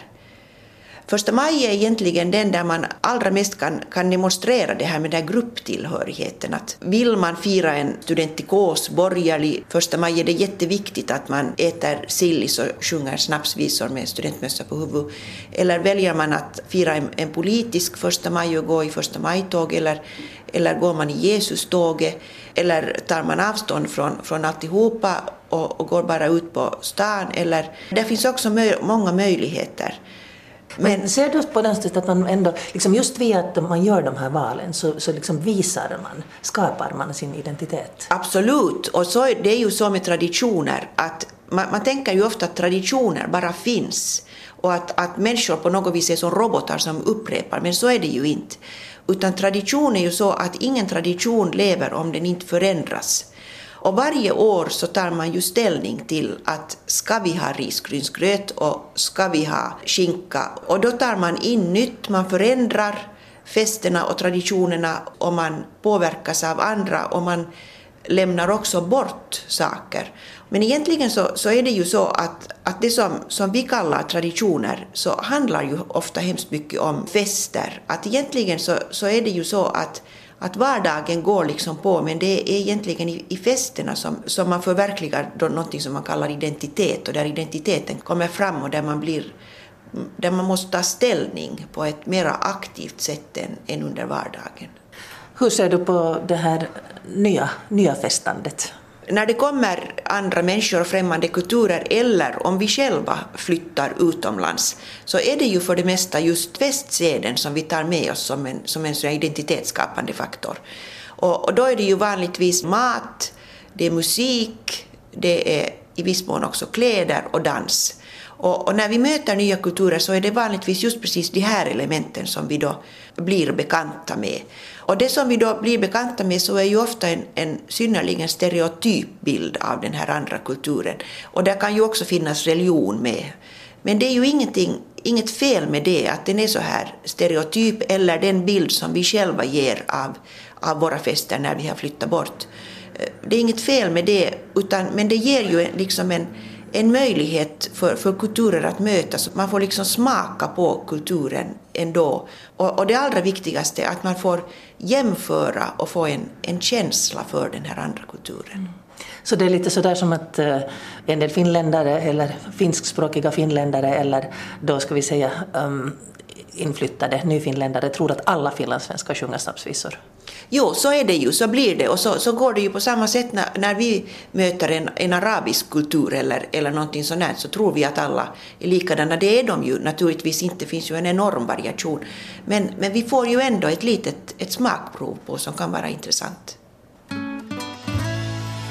Första maj är egentligen den där man allra mest kan, kan demonstrera det här med den här grupptillhörigheten. Att vill man fira en studentikos, borgerlig första maj, är det jätteviktigt att man äter sillis och sjunger snapsvisor med studentmössa på huvudet. Eller väljer man att fira en, en politisk första maj och gå i första majtåg, eller, eller går man i Jesus-tåget, eller tar man avstånd från, från alltihopa och, och går bara ut på stan. Eller, det finns också mö, många möjligheter. Men, Men ser du på den sättet att man ändå, liksom just via att man gör de här valen så, så liksom visar man, skapar man sin identitet? Absolut, och så, det är ju så med traditioner att man, man tänker ju ofta att traditioner bara finns och att, att människor på något vis är som robotar som upprepar, men så är det ju inte. Utan tradition är ju så att ingen tradition lever om den inte förändras. Och varje år så tar man ju ställning till att ska vi ha risgrynsgröt och ska vi ha skinka. Och då tar man in nytt, man förändrar festerna och traditionerna och man påverkas av andra och man lämnar också bort saker. Men egentligen så, så är det ju så att, att det som, som vi kallar traditioner så handlar ju ofta hemskt mycket om fester. Att egentligen så, så är det ju så att Att vardagen går liksom på, men det är egentligen i, i festerna som, som man förverkligar då något som man kallar identitet, och där identiteten kommer fram och där man, blir, där man måste ta ställning på ett mer aktivt sätt än, än under vardagen. Hur ser du på det här nya, nya festandet? När det kommer andra människor och främmande kulturer, eller om vi själva flyttar utomlands, så är det ju för det mesta just festseden som vi tar med oss som en, som en sån identitetsskapande faktor. Och, och då är det ju vanligtvis mat, det är musik, det är i viss mån också kläder och dans. Och, och när vi möter nya kulturer så är det vanligtvis just precis de här elementen som vi då blir bekanta med. Och det som vi då blir bekanta med så är ju ofta en, en synnerligen stereotyp bild av den här andra kulturen. Och där kan ju också finnas religion med. Men det är ju ingenting, inget fel med det, att den är så här stereotyp, eller den bild som vi själva ger av, av våra fester när vi har flyttat bort. Det är inget fel med det, utan, men det ger ju liksom en en möjlighet för, för kulturer att mötas. Man får liksom smaka på kulturen ändå. Och, och det allra viktigaste är att man får jämföra och få en, en känsla för den här andra kulturen. Mm. Så det är lite sådär som att uh, en del finländare eller finskspråkiga finländare eller då ska vi säga um, inflyttade nyfinländare tror att alla finlandssvenskar sjunger snapsvisor. Jo, så är det ju, så blir det. Och så, så går det ju på samma sätt när, när vi möter en, en arabisk kultur eller, eller någonting sånt här, så tror vi att alla är likadana. Det är de ju naturligtvis inte, det finns ju en enorm variation. Men, men vi får ju ändå ett litet ett smakprov på som kan vara intressant.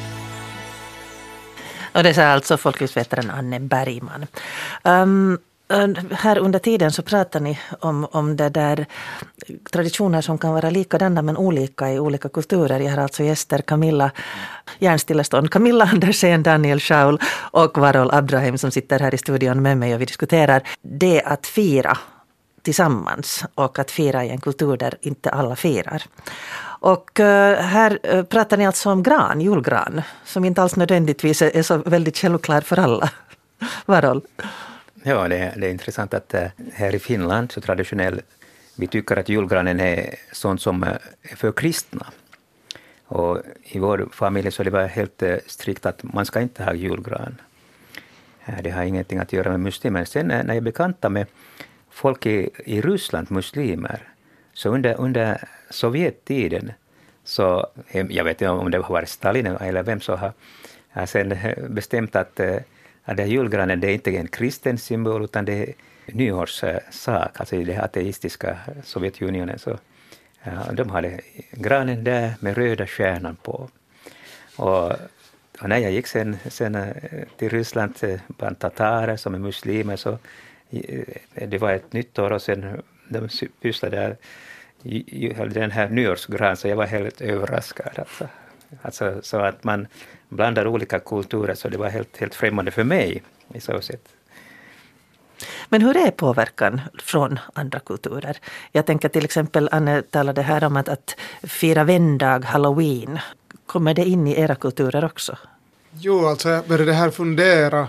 Och det sa alltså folklivsvetaren Anne Bergman. Um, Här under tiden så pratar ni om, om det där traditioner som kan vara likadana men olika i olika kulturer. Jag har alltså gäster Camilla Järnstillestånd, Camilla Andersen, Daniel Schaul och Varol Abdrahim som sitter här i studion med mig och vi diskuterar det att fira tillsammans och att fira i en kultur där inte alla firar. Och här pratar ni alltså om gran, julgran, som inte alls nödvändigtvis är så väldigt självklar för alla. Varol? Ja, det är, det är intressant att här i Finland så traditionellt vi tycker att julgranen är sånt som är för kristna. Och i vår familj så det var helt strikt att man ska inte ha julgran. Det har ingenting att göra med muslimer. Sen när jag bekanta med folk i, i Ryssland, muslimer, så under, under Sovjettiden så, jag vet inte om det har varit Stalin eller vem som har, har sen bestämt att att det julgranen det är inte en kristen symbol utan det är nyårssak, alltså i det ateistiska Sovjetunionen. Så, ja, de hade granen där med röda stjärnan på. Och, och när jag gick sen, sen till Ryssland bland tatarer som är muslimer så det var ett nytt år och sen de pysslade där den här nyårsgran så jag var helt överraskad. Alltså, alltså så att man blandar olika kulturer så det var helt, helt främmande för mig i så sätt. Men hur är påverkan från andra kulturer? Jag tänker till exempel, Anne talade här om att, att fira vändag, Halloween. Kommer det in i era kulturer också? Jo, alltså jag började här fundera.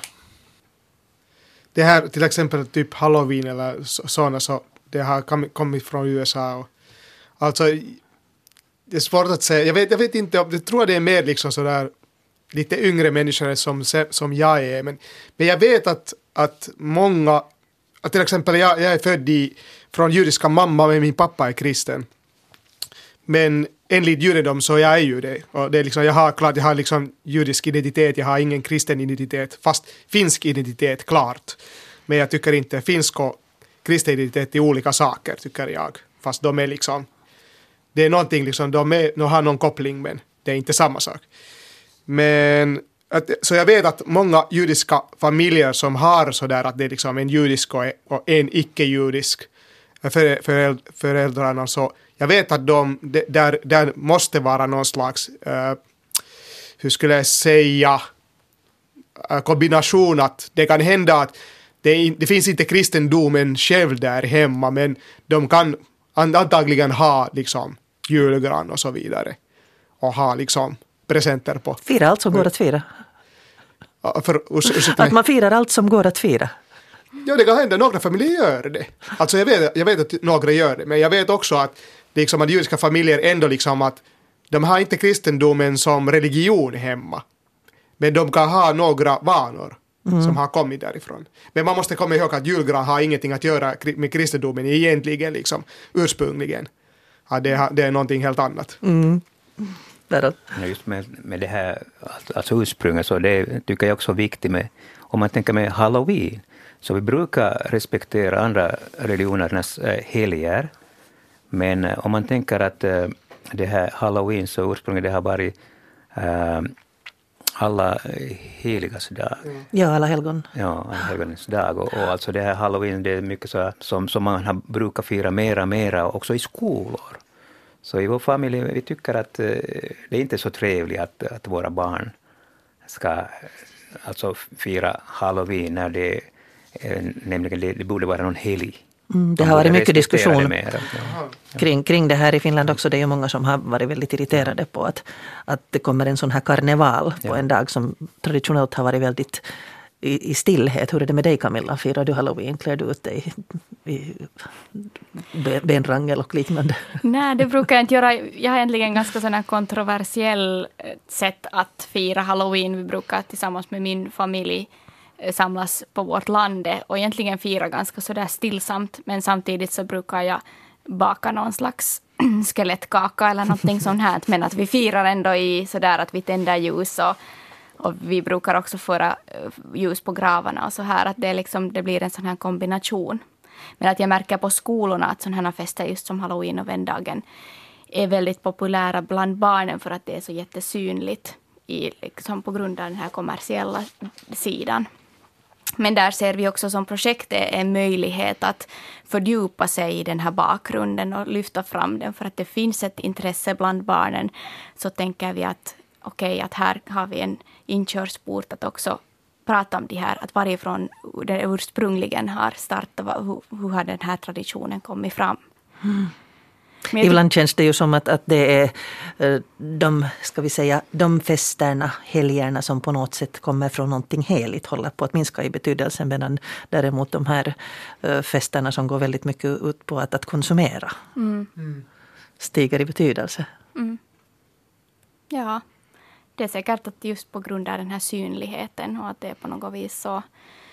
Det här till exempel typ Halloween eller sådana så det har kommit från U S A. Och, alltså det är svårt att säga. Jag vet, jag vet inte, jag tror det är mer liksom sådär lite yngre människor som, som jag är. Men, men jag vet att, att många, att till exempel jag, jag är född i, från judiska mamma men min pappa är kristen. Men enligt judendom så jag är ju det. Och det är liksom, jag har klart, jag har liksom judisk identitet, jag har ingen kristen identitet. Fast finsk identitet, klart. Men jag tycker inte finsk och kristen identitet är olika saker, tycker jag. Fast de är liksom, det är någonting liksom, de, är, de har någon koppling men det är inte samma sak. Men att, så jag vet att många judiska familjer som har sådär att det är liksom en judisk och, och en icke-judisk för, för, föräldrarna så jag vet att de, där, där måste vara någon slags uh, hur skulle jag säga uh, kombination att det kan hända att det, det finns inte kristendomen själv där hemma men de kan antagligen ha liksom julgran och så vidare och ha liksom presenter på. Fira allt som går att fira. För, ursäkta, att man firar allt som går att fira. Ja, det kan hända. Några familjer gör det. Alltså jag vet, jag vet att några gör det. Men jag vet också att, liksom, att judiska familjer ändå liksom att de har inte kristendomen som religion hemma. Men de kan ha några vanor mm. som har kommit därifrån. Men man måste komma ihåg att julgran har ingenting att göra med kristendomen egentligen liksom ursprungligen. Ja, det, är, det är någonting helt annat. Mm. Ja, just med, med det här alltså ursprunget så det tycker jag också är viktigt med om man tänker med Halloween så vi brukar respektera andra religionernas äh, helger men äh, om man tänker att äh, det här Halloween så ursprunget det har varit äh, alla heligas dag. Mm. Ja, alla helgon. Ja, alla helgonens dag och, och alltså det här Halloween det är mycket så som, som man har, brukar fira mera mera också i skolor. Så i vår familj vi tycker att eh, det är inte så trevligt att, att våra barn ska alltså fira Halloween när det eh, nämligen det, det borde vara någon helg. Mm, det har varit mycket diskussion mer, ja. kring, kring det här i Finland också. Det är ju många som har varit väldigt irriterade på att, att det kommer en sån här karneval på ja. en dag som traditionellt har varit väldigt i, i stillhet. Hur är det med dig Camilla? Firar du Halloween? Klär du ut dig i, i benrangel och liknande? Nej, det brukar jag inte göra. Jag har egentligen ganska sån här kontroversiell sätt att fira Halloween. Vi brukar tillsammans med min familj samlas på vårt land och egentligen fira ganska sådär stillsamt. Men samtidigt så brukar jag baka någon slags skelettkaka eller någonting sånt här. Men att vi firar ändå i sådär att vi tänder ljus och Och vi brukar också föra ljus på gravarna och så här. Att det, är liksom, det blir en sån här kombination. Men att jag märker på skolorna att sådana här fester just som Halloween och vändagen är väldigt populära bland barnen för att det är så jättesynligt i, liksom på grund av den här kommersiella sidan. Men där ser vi också som projektet en möjlighet att fördjupa sig i den här bakgrunden och lyfta fram den. För att det finns ett intresse bland barnen, så tänker vi att okej, okay, att här har vi en inkörsport att också prata om det här. Att varifrån det ursprungligen har startat, hur, hur har den här traditionen kommit fram. Mm. Ibland känns det ju som att, att det är de, ska vi säga, de festerna, helgerna som på något sätt kommer från någonting heligt håller på att minska i betydelsen, medan däremot de här festerna som går väldigt mycket ut på att, att konsumera mm. Mm. stiger i betydelse. Mm. Ja, det är säkert att just på grund av den här synligheten och att det är på något vis så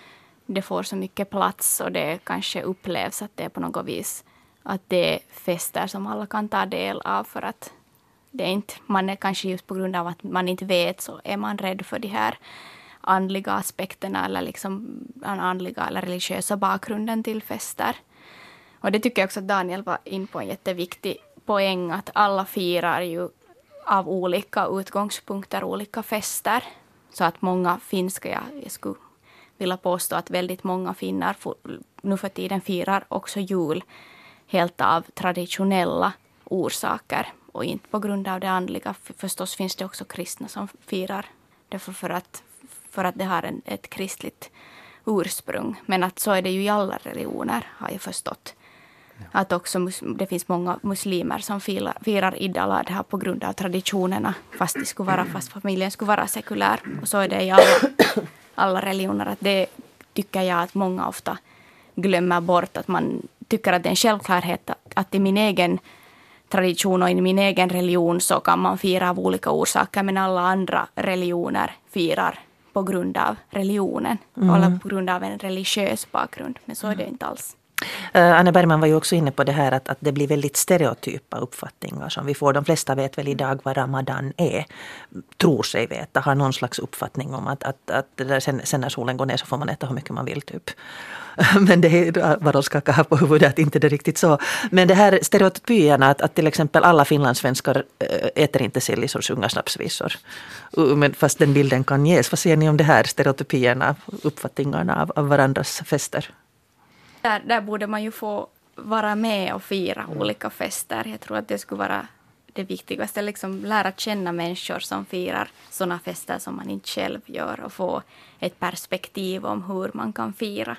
det får så mycket plats och det kanske upplevs att det är på något vis att det är fester som alla kan ta del av, för att det är inte, man är kanske just på grund av att man inte vet, så är man rädd för de här andliga aspekterna eller liksom den andliga eller religiösa bakgrunden till fester. Och det tycker jag också att Daniel var in på en jätteviktig poäng, att alla firar ju av olika utgångspunkter olika fester. Så att många finska, jag, jag skulle vilja påstå att väldigt många finnar nu för tiden firar också jul helt av traditionella orsaker och inte på grund av det andliga. För förstås finns det också kristna som firar därför för att, för att det har en, ett kristligt ursprung. Men att så är det ju i alla religioner, har jag förstått. Ja. Att också det finns många muslimer som firar, firar Eid al-Adha på grund av traditionerna, fast, det skulle vara, fast familjen skulle vara sekulär. Och så är det i alla, alla religioner. Att det tycker jag att många ofta glömmer bort, att man tycker att det är en självklarhet att i min egen tradition och i min egen religion så kan man fira av olika orsaker, men alla andra religioner firar på grund av religionen mm. eller på grund av en religiös bakgrund, men så är det inte alls. Uh, Anne Bergman var ju också inne på det här att, att det blir väldigt stereotypa uppfattningar som vi får. De flesta vet väl idag vad Ramadan är, tror sig veta, har någon slags uppfattning om att, att, att det där sen, sen när solen går ner så får man äta hur mycket man vill typ. Men det är vad de skakar här på huvudet, att inte det är riktigt så. Men det här stereotypierna att, att till exempel alla finlandssvenskar äter inte sill och sjunger snapsvisor. Men fast den bilden kan ges. Vad säger ni om det här stereotypierna, uppfattningarna av, av varandras fester? Där, där borde man ju få vara med och fira olika fester. Jag tror att det skulle vara det viktigaste. Liksom lära känna människor som firar sådana fester som man inte själv gör. Och få ett perspektiv om hur man kan fira.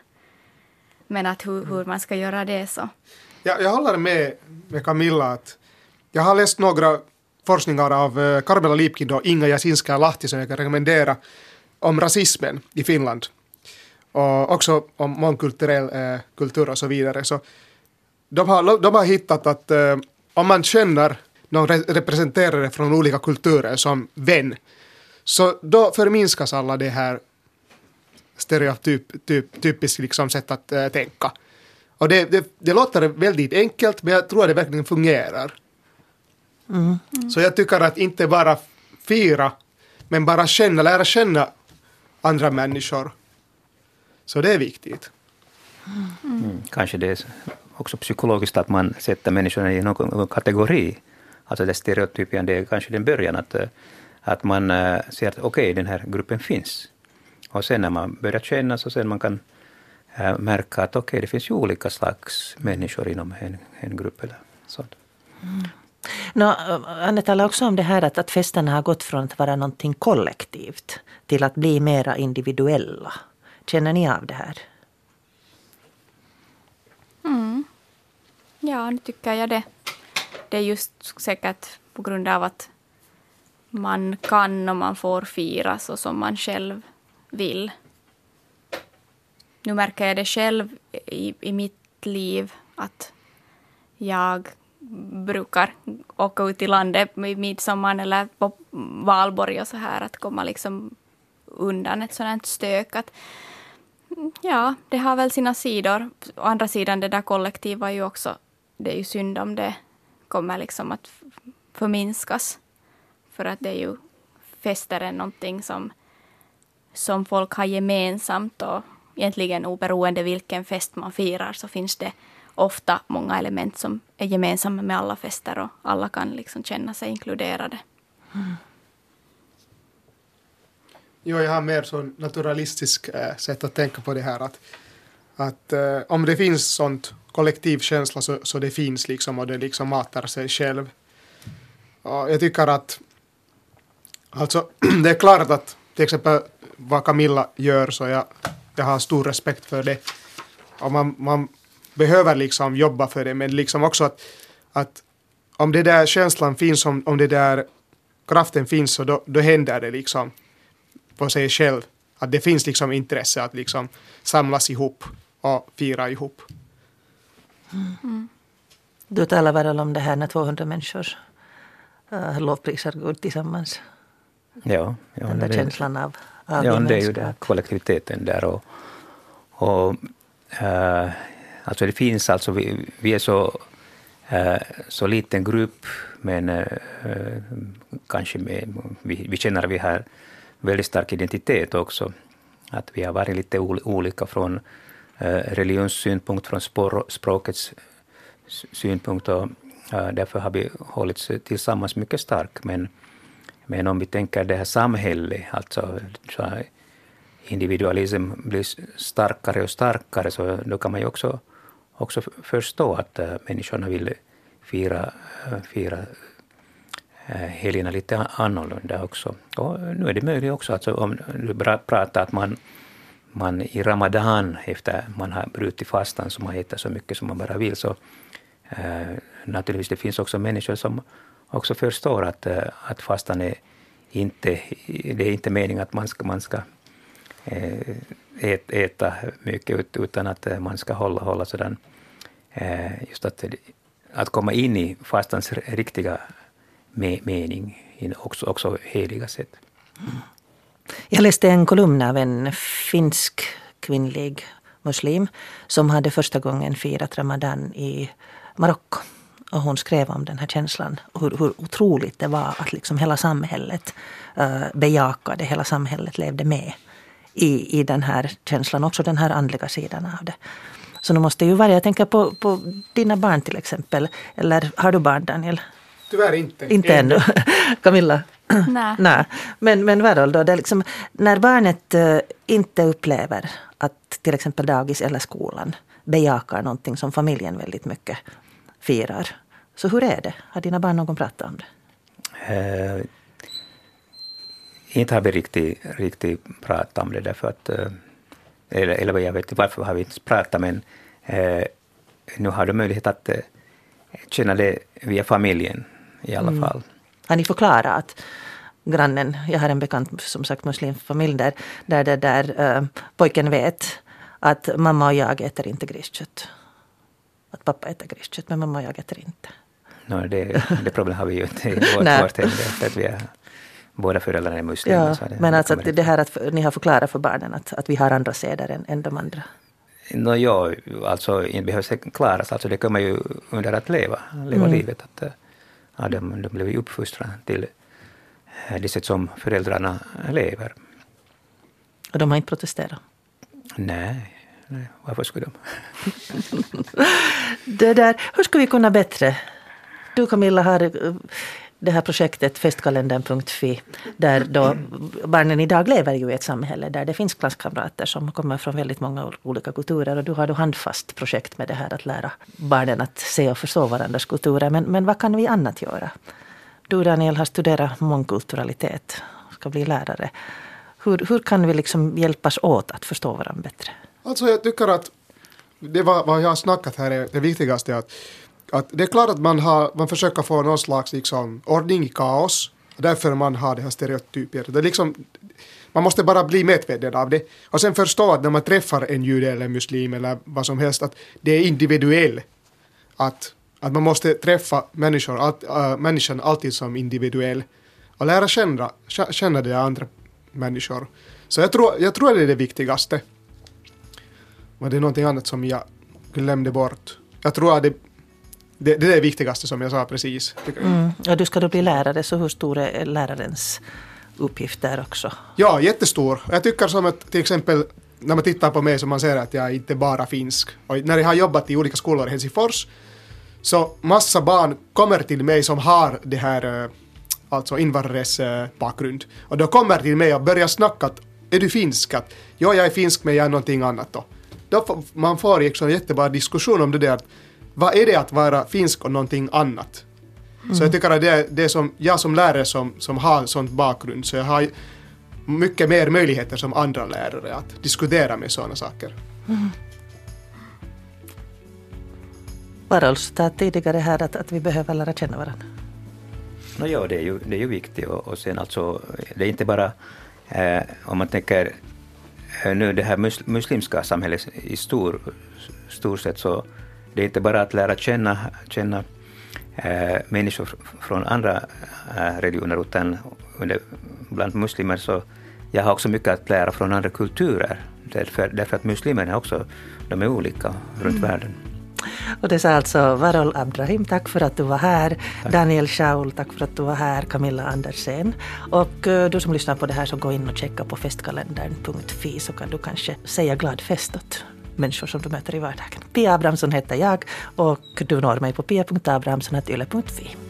Men att hur, hur man ska göra det så. Ja, jag håller med, med Camilla. Att jag har läst några forskningar av Karmela Liipkin och Inga Jasinska-Lahti som jag kan rekommendera om rasismen i Finland. Och också om mångkulturell eh, kultur och så vidare. Så de, har, de har hittat att eh, om man känner någon re- representerare från olika kulturer som vän, så då förminskas alla det här stereotyp, typ, typiskt liksom sätt att äh, tänka. Och det, det, det låter väldigt enkelt, men jag tror att det verkligen fungerar. Mm. Mm. Så jag tycker att inte bara fira, men bara känna, lära känna andra människor. Så det är viktigt. Mm. Mm. Kanske det är också psykologiskt att man sätter människorna i någon kategori. Alltså det stereotypen, det är kanske den början att, att man äh, ser att okej, okay, den här gruppen finns. Och sen när man börjar känna så sen man kan äh, märka att okej, okay, det finns ju olika slags människor inom en, en grupp eller sånt. Mm. No, Anne talar också om det här att, att festerna har gått från att vara någonting kollektivt till att bli mera individuella. Känner ni av det här? Mm. Ja, nu tycker jag det. Det är just säkert på grund av att man kan och man får fira så som man själv vill. Nu märker jag det själv i, i mitt liv att jag brukar åka ut i landet med midsommar eller på valborg och så här, att komma liksom undan ett sådant stök. Att, ja, det har väl sina sidor. Å andra sidan, det där kollektiva är ju också, det är ju synd om det kommer liksom att förminskas. För att det är ju fester är någonting som som folk har gemensamt, och egentligen oberoende vilken fest man firar så finns det ofta många element som är gemensamma med alla fester och alla kan liksom känna sig inkluderade. Mm. Jo, jag har mer så naturalistisk äh, sätt att tänka på det här. Att, att äh, om det finns sånt kollektivkänsla så, så det finns liksom och det liksom matar sig själv. Och jag tycker att alltså, det är klart att till exempel vad Camilla gör så jag, jag har stor respekt för det. Och man, man behöver liksom jobba för det, men liksom också att, att om det där känslan finns, om, om det där kraften finns så då, då händer det liksom på sig själv. Att det finns liksom intresse att liksom samlas ihop och fira ihop. Mm. Du talar väl om det här när tvåhundra människor uh, lovprisar Gud tillsammans. Ja, ja, den där det, känslan av, av ja, det är ju den kollektiviteten där. Och, och, uh, alltså det finns alltså, vi, vi är så, uh, så liten grupp, men uh, kanske med, vi, vi känner att vi har väldigt stark identitet också. Att vi har varit lite olika från uh, religionssynpunkt, från spår, språkets synpunkt. Och, uh, därför har vi hållits tillsammans mycket stark. Men, men om vi tänker det här samhället, alltså så här, individualism blir starkare och starkare, så då kan man ju också, också förstå att uh, människorna vill fira, uh, fira uh, helgerna lite annorlunda också. Och nu är det möjligt också, alltså, om du pratar att man, man i Ramadan, efter man har brutit fastan, så man äter så mycket som man bara vill, så uh, naturligtvis det finns också människor som också förstår att, uh, att fastan är inte, det är inte meningen att man ska, man ska Ät, äta mycket utan att man ska hålla, hålla sådan, just att, att komma in i fastans riktiga mening, också, också heliga sätt. Mm. Jag läste en kolumn av en finsk kvinnlig muslim som hade första gången firat Ramadan i Marocko. Och hon skrev om den här känslan, hur, hur otroligt det var att liksom hela samhället uh, bejakade, hela samhället levde med I, i den här känslan, också den här andliga sidan av det. Så nu måste ju vara, jag tänker på, på dina barn till exempel, eller har du barn, Daniel? Tyvärr inte. Inte ännu. Camilla? Nej. Nej. Men, men Varol då, det är liksom, när barnet uh, inte upplever att till exempel dagis eller skolan bejakar någonting som familjen väldigt mycket firar. Så hur är det? Har dina barn någon pratat om det? Uh. Inte har vi riktigt, riktigt pratat om det därför att, eller, eller jag vet inte varför har vi inte pratat, men eh, nu har du möjlighet att eh, känna det via familjen i alla mm. fall. Har ni förklarat att grannen, jag har en bekant som sagt muslimfamilj där, där, där, där äh, pojken vet att mamma och jag äter inte griskött. Att pappa äter griskött, men mamma och jag äter inte. No, det, det problem har vi ju inte i vårt, vårt hem, att vi är båda föräldrarna är muslimer. Ja, det, men det alltså att det här att ni har förklarat för barnen att, att vi har andra seder än, än de andra. No, ja, alltså inte behövs klaras. Alltså det kommer ju under att leva, leva mm. livet. Att, ja, de, de blev ju uppfostrade till det sätt som föräldrarna lever. Och de har inte protesterat? Nej, nej, varför skulle de? Det där, hur ska vi kunna bättre? Du, Camilla, har det här projektet festkalendern punkt fi, där då barnen idag lever ju i ett samhälle där det finns klasskamrater som kommer från väldigt många olika kulturer, och du har då handfast projekt med det här att lära barnen att se och förstå varandras kulturer. Men, men vad kan vi annat göra? Du, Daniel, har studerat mångkulturalitet, ska bli lärare. Hur, hur kan vi liksom hjälpas åt att förstå varandra bättre? Alltså jag tycker att det var, vad jag har snackat här är det viktigaste, att Att det är klart att man, har, man försöker få någon slags liksom, ordning i kaos. Därför man har det här stereotyper. Det är liksom, man måste bara bli medveten av det. Och sen förstå att när man träffar en jude eller muslim eller vad som helst, att det är individuellt. Att, att man måste träffa människor, allt, äh, människan alltid som individuell. Och lära känna, känna de andra människor. Så jag tror, jag tror att det är det viktigaste. Men det är någonting annat som jag glömde bort. Jag tror att det Det, det är det viktigaste som jag sa precis. Mm. Och du ska då bli lärare, så hur stor är lärarens uppgift där också? Ja, jättestor. Jag tycker som att till exempel när man tittar på mig så man ser att jag inte bara finsk. Och när jag har jobbat i olika skolor i Helsingfors så massa barn kommer till mig som har det här alltså invandrares eh, bakgrund. Och då kommer till mig och börjar snacka att är du finsk? Att, ja, jag är finsk men jag är någonting annat då. Då får, man får liksom en jättebra diskussion om det där. Vad är det att vara finsk och någonting annat? Mm. Så jag tycker att det, det är som jag som lärare som, som har sånt bakgrund, så jag har mycket mer möjligheter som andra lärare att diskutera med sådana saker. Mm. Varol sa tidigare här att, att vi behöver lära känna varandra. No, ja, det är ju, det är ju viktigt. Och, och sen alltså, det är inte bara, eh, om man tänker eh, nu det här mus, muslimska samhället i stor, stor sätt, så det är inte bara att lära känna, känna eh, människor från andra eh, religioner, utan bland muslimer så jag har också mycket att lära från andra kulturer. Därför, därför att muslimerna också, de är olika runt mm. världen. Och det sa alltså Varol Abdrahim, tack för att du var här. Tack. Daniel Schaul, tack för att du var här. Camilla Andersen. Och uh, du som lyssnar på det här, så gå in och checka på festkalendern punkt fi, så kan du kanske säga glad fest åt människor som du möter i vardagen. Pia Abrahamsson heter jag, och du når mig på pia punkt abrahamsson snabel-a yle punkt fi.